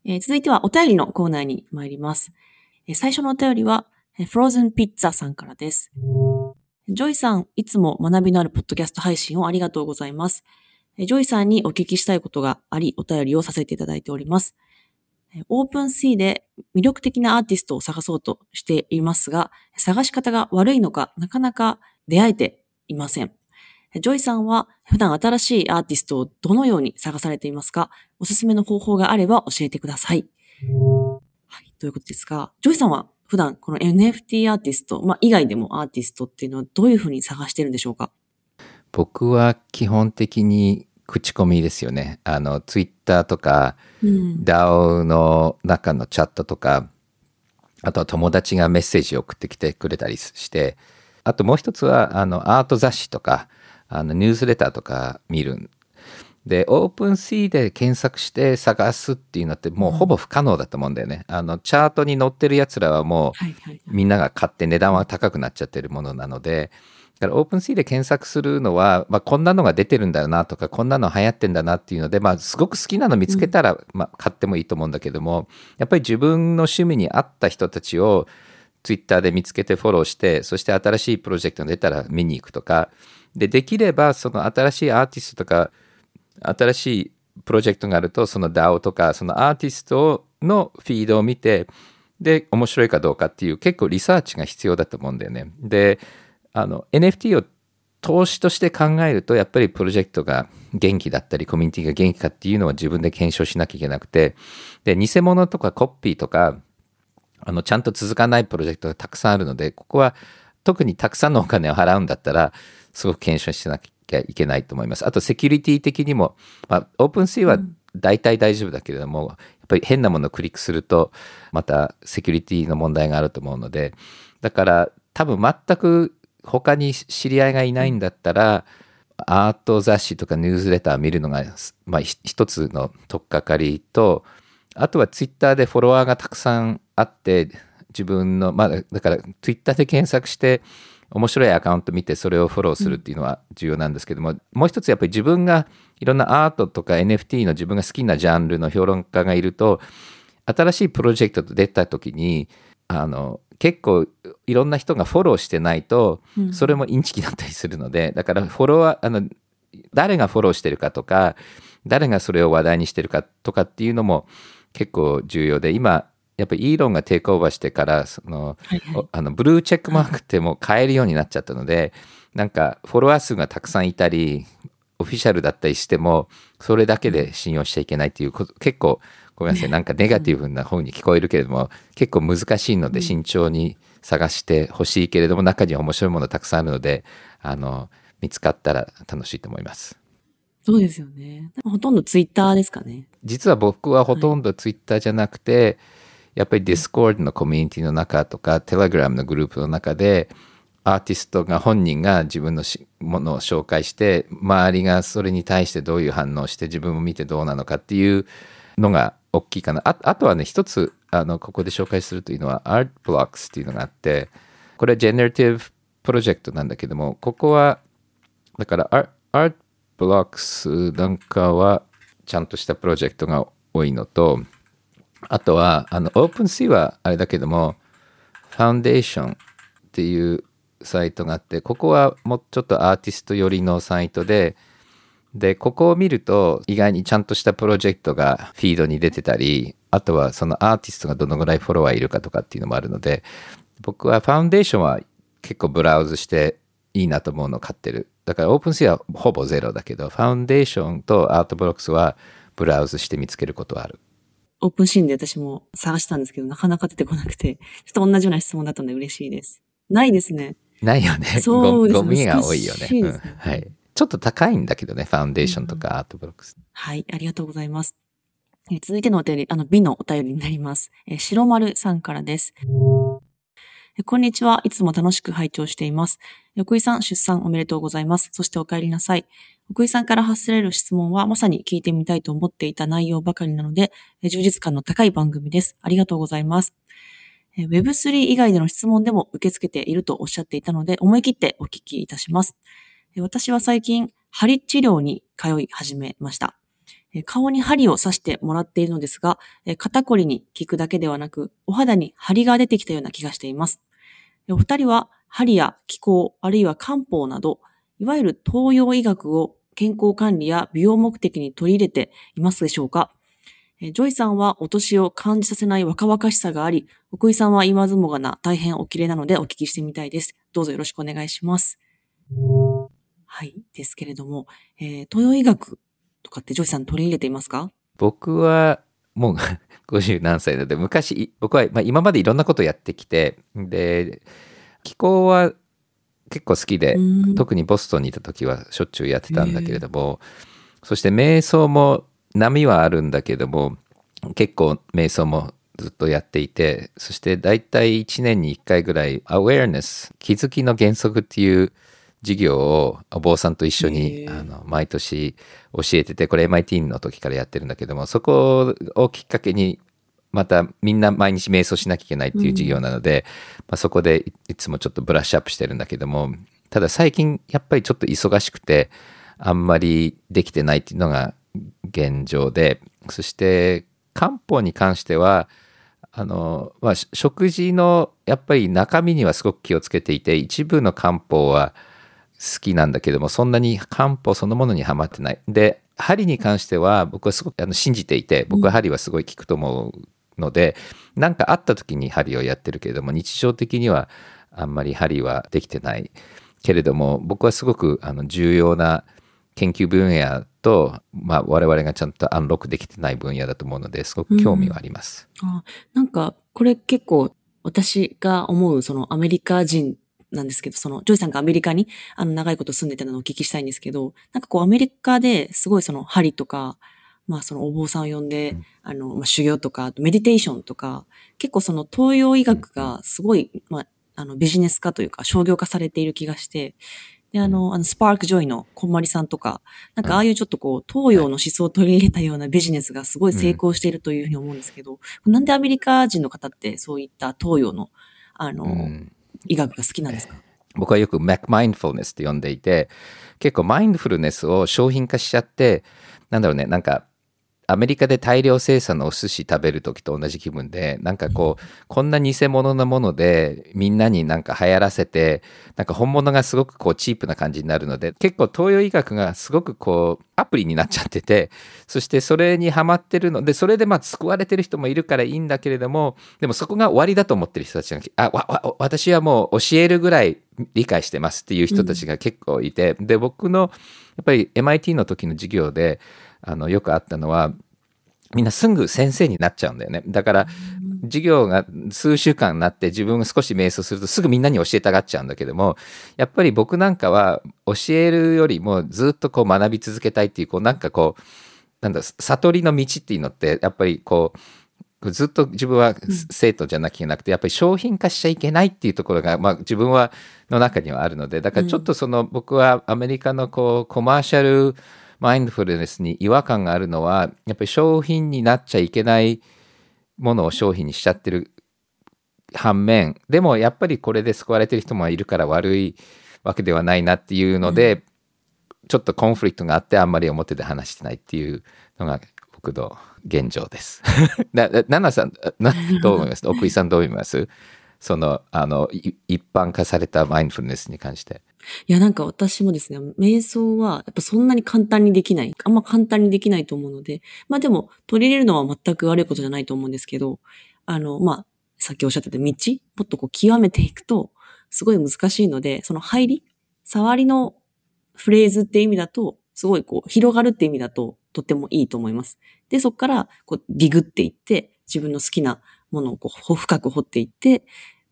続いてはお便りのコーナーに参ります。最初のお便りは、フローズンピッツァさんからです。ジョイさん、いつも学びのあるポッドキャスト配信をありがとうございます。ジョイさんにお聞きしたいことがあり、お便りをさせていただいております。オープンシーで魅力的なアーティストを探そうとしていますが、探し方が悪いのか、なかなか出会えていません。ジョイさんは普段新しいアーティストをどのように探されていますか？おすすめの方法があれば教えてください。はい、ということですが、ジョイさんは普段この NFT アーティスト、以外でもアーティストっていうのはどういうふうに探してるんでしょうか？ 僕は基本的に口コミですよね。ツイッターとか、DAO の中のチャットとか、あとは友達がメッセージを送ってきてくれたりして、あともう一つはアート雑誌とかニュースレターとか見る。で、オープンシーで検索して探すっていうのってもうほぼ不可能だと思うんだよね。チャートに載ってるやつらはもうみんなが買って値段は高くなっちゃってるものなので、だからオープンシーで検索するのは、こんなのが出てるんだよなとか、こんなの流行ってんだなっていうので、すごく好きなの見つけたら、買ってもいいと思うんだけども、やっぱり自分の趣味に合った人たちをツイッターで見つけてフォローして、そして新しいプロジェクトが出たら見に行くとか、できればその新しいアーティストとか、新しいプロジェクトがあると、その DAO とか、そのアーティストのフィードを見て、で、面白いかどうかっていう結構リサーチが必要だと思うんだよね。で、NFT を投資として考えると、やっぱりプロジェクトが元気だったり、コミュニティが元気かっていうのは自分で検証しなきゃいけなくて、で、偽物とかコピーとか、ちゃんと続かないプロジェクトがたくさんあるので、ここは特にたくさんのお金を払うんだったら、すごく検証しなきゃいけないと思います。あと、セキュリティ的にも、オープンシーは大体大丈夫だけれども、やっぱり変なものをクリックすると、またセキュリティの問題があると思うので、だから多分全く他に知り合いがいないんだったら、アート雑誌とかニュースレター見るのが、一つの取っかかりと、あとはツイッターでフォロワーがたくさんあって、自分の、だからツイッターで検索して、面白いアカウント見てそれをフォローするっていうのは重要なんですけども、もう一つやっぱり自分がいろんなアートとか NFT の自分が好きなジャンルの評論家がいると、新しいプロジェクトと出た時に、結構いろんな人がフォローしてないと、それもインチキだったりするので、だからフォロワー、誰がフォローしてるかとか、誰がそれを話題にしてるかとかっていうのも結構重要で、今、やっぱりイーロンがテイクオーバーしてから、ブルーチェックマークってもう買えるようになっちゃったので、なんかフォロワー数がたくさんいたり、オフィシャルだったりしても、それだけで信用しちゃいけないっていうこと、結構、ごめんなさい、なんかネガティブな方に聞こえるけれども、結構難しいので慎重に探してほしいけれども、中には面白いものたくさんあるので、見つかったら楽しいと思います。 そうですよね。ほとんどツイッターですかね。 実は僕はほとんどツイッターじゃなくて、やっぱり Discord のコミュニティの中とか Telegram のグループの中でアーティストが本人が自分のものを紹介して周りがそれに対してどういう反応をして自分も見てどうなのかっていうのが大きいかな。あとはね、一つここで紹介するというのは Art Blocks っていうのがあって、これは Generative プロジェクトなんだけども、ここはだから Art Blocks なんかはちゃんとしたプロジェクトが多いのと、あとはOpenSea はあれだけども Foundation っていうサイトがあって、ここはもうちょっとアーティスト寄りのサイトで、ここを見ると意外にちゃんとしたプロジェクトがフィードに出てたり、あとはそのアーティストがどのぐらいフォロワーいるかとかっていうのもあるので、僕は Foundation は結構ブラウズしていいなと思うのを買ってる。だから OpenSea はほぼゼロだけど、Foundation と Artblocks はブラウズして見つけることはある。 オープンシーンで私も探したんですけど、なかなか出てこなくて、ちょっと同じような質問だったので嬉しいです。ないですね。 ないよね。 そうですね。 ゴミが多いよね。 ね。 はい。ちょっと高いんだけどね、ファウンデーションとかアートブロックス。 はい、ありがとうございます。続いてのお便り、美のお便りになります。白丸さんからです。こんにちは。いつも楽しく拝聴しています。奥井さん、出産おめでとうございます。そしてお帰りなさい。奥井さんから発せられる質問はまさに聞いてみたいと思っていた内容ばかりなので、充実感の高い番組です。ありがとうございます。Web3 以外での質問でも受け付けているとおっしゃっていたので、思い切ってお聞きいたします。私は最近、鍼治療に通い始めました。 顔に針を刺してもらっているのですが、肩こりに効くだけではなく、お肌に張りが出てきたような気がしています。お二人は針や気功、あるいは漢方など、いわゆる東洋医学を健康管理や美容目的に取り入れていますでしょうか？ジョイさんはお年を感じさせない若々しさがあり、奥井さんは言わずもがな大変お綺麗なのでお聞きしてみたいです。どうぞよろしくお願いします。はい。ですけれども、東洋医学とかってジョイさん取り入れていますか？ 僕はもう50何歳なので、僕は今までいろんなことをやってきて、で、気候は結構好きで、特にボストンにいた時はしょっちゅうやってたんだけれども、そして瞑想も波はあるんだけども、結構瞑想もずっとやっていて、そしてだいたい1年に1回ぐらいアウェアネス、気づきの原則っていう授業をお坊さんと一緒に毎年教えてて、これ MIT の時からやってるんだけども、そこをきっかけにまたみんな毎日瞑想しなきゃいけないっていう授業なので、そこでいつもちょっとブラッシュアップしてるんだけども、ただ最近やっぱりちょっと忙しくてあんまりできてないっていうのが現状で、そして漢方に関しては食事のやっぱり中身にはすごく気をつけていて、一部の漢方は好きなんだけども、そんなに漢方そのものにはまってない。で、針に関しては僕はすごく信じていて、僕は針はすごい効くと思うので、なんかあった時に針をやってるけれども、日常的にはあんまり針はできてないけれども、僕はすごく重要な研究分野と、我々がちゃんとアンロックできてない分野だと思うので、すごく興味はあります。 なんかこれ結構私が思うそのアメリカ人なんですけど、そのジョイさんがアメリカに長いこと住んでたのをお聞きしたいんですけど、なんかこうアメリカですごいその針とか、そのお坊さんを呼んで、修行とか、メディテーションとか、結構その東洋医学がすごい、ビジネス化というか商業化されている気がして、で、スパークジョイのこんまりさんとか、なんかああいうちょっとこう、東洋の思想を取り入れたようなビジネスがすごい成功しているというふうに思うんですけど、なんでアメリカ人の方ってそういった東洋の、医学が好きなんですか？ 僕はよくマインドフルネスって呼んでいて、結構マインドフルネスを商品化しちゃって、なんかアメリカで大量生産のお寿司食べるときと同じ気分で、なんかこんな偽物なものでみんなになんか流行らせて、なんか本物がすごくチープな感じになるので、結構東洋医学がすごくアプリになっちゃってて、そしてそれにハマってるので、それで救われてる人もいるからいいんだけれども、でもそこが終わりだと思ってる人たちが、私はもう教えるぐらい理解してますっていう人たちが結構いて、で、僕のやっぱり MIT の時の授業でよくあったのは、みんなすぐ先生になっちゃうんだよね。だから授業が数週間になって自分が少し瞑想するとすぐみんなに教えたがっちゃうんだけども、やっぱり僕なんかは教えるよりもずっと学び続けたいっていう、なんか悟りの道っていうのってやっぱりずっと自分は生徒じゃなきゃいけなくて、やっぱり商品化しちゃいけないっていうところが、自分の中にはあるので、だからちょっと僕はアメリカのコマーシャルマインドフルネスに違和感があるのは、やっぱり商品になっちゃいけないものを商品にしちゃってる反面、でもやっぱりこれで救われてる人もいるから悪いわけではないなっていうので、ちょっとコンフリクトがあってあんまり表で話してないっていうのが僕の現状です。ナナさんどう思います？奥井さんどう思います？一般化されたマインドフルネスに関して。 いや、なんか私もですね、瞑想はやっぱそんなに簡単にできない。あんま簡単にできないと思うので、でも取り入れるのは全く悪いことじゃないと思うんですけど、さっきおっしゃってた道、もっと極めていくと、すごい難しいので、その触りのフレーズって意味だと、すごい広がるって意味だと、とってもいいと思います。で、そこからディグっていって、自分の好きなものを深く掘っていって、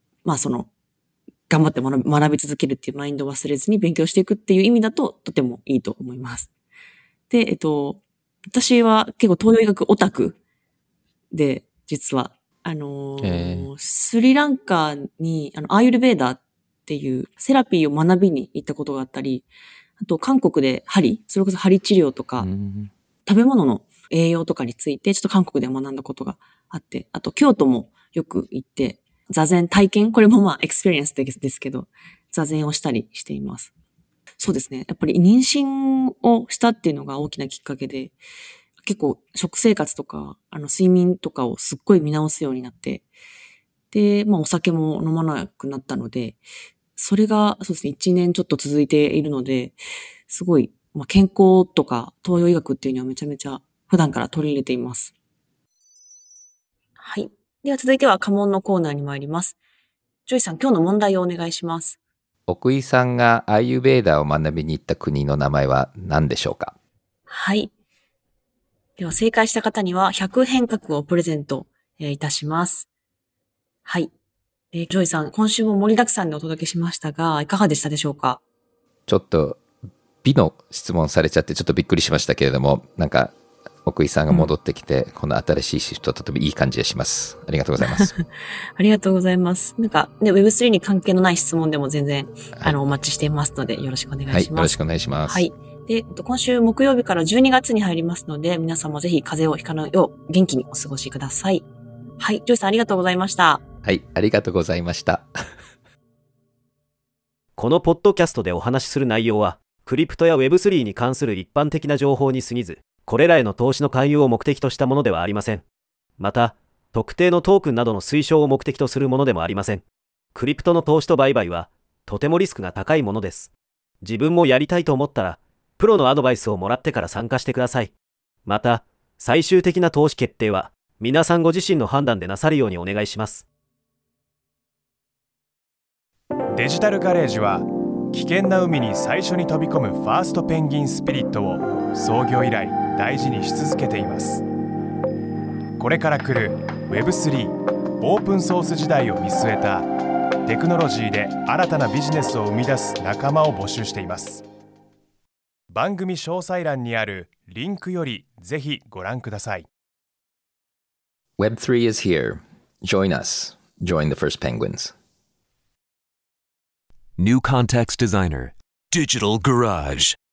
頑張って学び続けるっていうマインドを忘れずに勉強していくっていう意味だととてもいいと思います。で、私は結構東洋医学オタクで、実は、スリランカにアーユルヴェーダっていうセラピーを学びに行ったことがあったり、あと韓国でそれこそ針治療とか、食べ物の栄養とかについてちょっと韓国で学んだことがあって、あと京都もよく行って、座禅体験、これもエクスペリエンスですけど、座禅をしたりしています。そうですね。やっぱり妊娠をしたっていうのが大きなきっかけで、 結構食生活とか、睡眠とかをすっごい見直すようになって、で、お酒も飲まなくなったので、それが、そうですね、1年ちょっと続いているので、すごい、健康とか東洋医学っていうのはめちゃめちゃ普段から取り入れています。はい。では続いては家問のコーナーに参ります。ジョイさん、今日の問題をお願いします。 奥井さんがアーユーベーダーを学びに行った国の名前は何でしょうか？ はい。では正解した方には100変革をプレゼントいたします。はい。ジョイさん、今週も盛りだくさんでお届けしましたが、いかがでしたでしょうか？ ちょっと美の質問されちゃってちょっとびっくりしましたけれども、なんか奥井さんが戻ってきて、この新しいシフトとてもいい感じがします。ありがとうございます。 ありがとうございます。なんか、ね、Web3 に関係のない質問でも全然、お待ちしていますので、よろしくお願いします。はい、よろしくお願いします。 はい。で、今週木曜日から12月に入りますので、皆さんもぜひ風邪をひかないよう元気にお過ごしください。はい、ジョイさんありがとうございました。 はい、ありがとうございました。 このポッドキャストでお話しする内容は、クリプトや Web3 に関する一般的な情報に過ぎず、これらへの投資の勧誘を目的としたものではありません。また、特定のトークンなどの推奨を目的とするものでもありません。クリプトの投資と売買は、とてもリスクが高いものです。自分もやりたいと思ったら、プロのアドバイスをもらってから参加してください。また、最終的な投資決定は、皆さんご自身の判断でなさるようにお願いします。 デジタルガレージは、危険な海に最初に飛び込むファーストペンギンスピリットを創業以来大事にし続けています。これから来る Web3 オープンソース時代を見据えたテクノロジーで新たなビジネスを生み出す仲間を募集しています。番組詳細欄にあるリンクよりぜひご覧ください。 Web3 is here. Join us. Join the first penguins. New Context Designer, Digital Garage.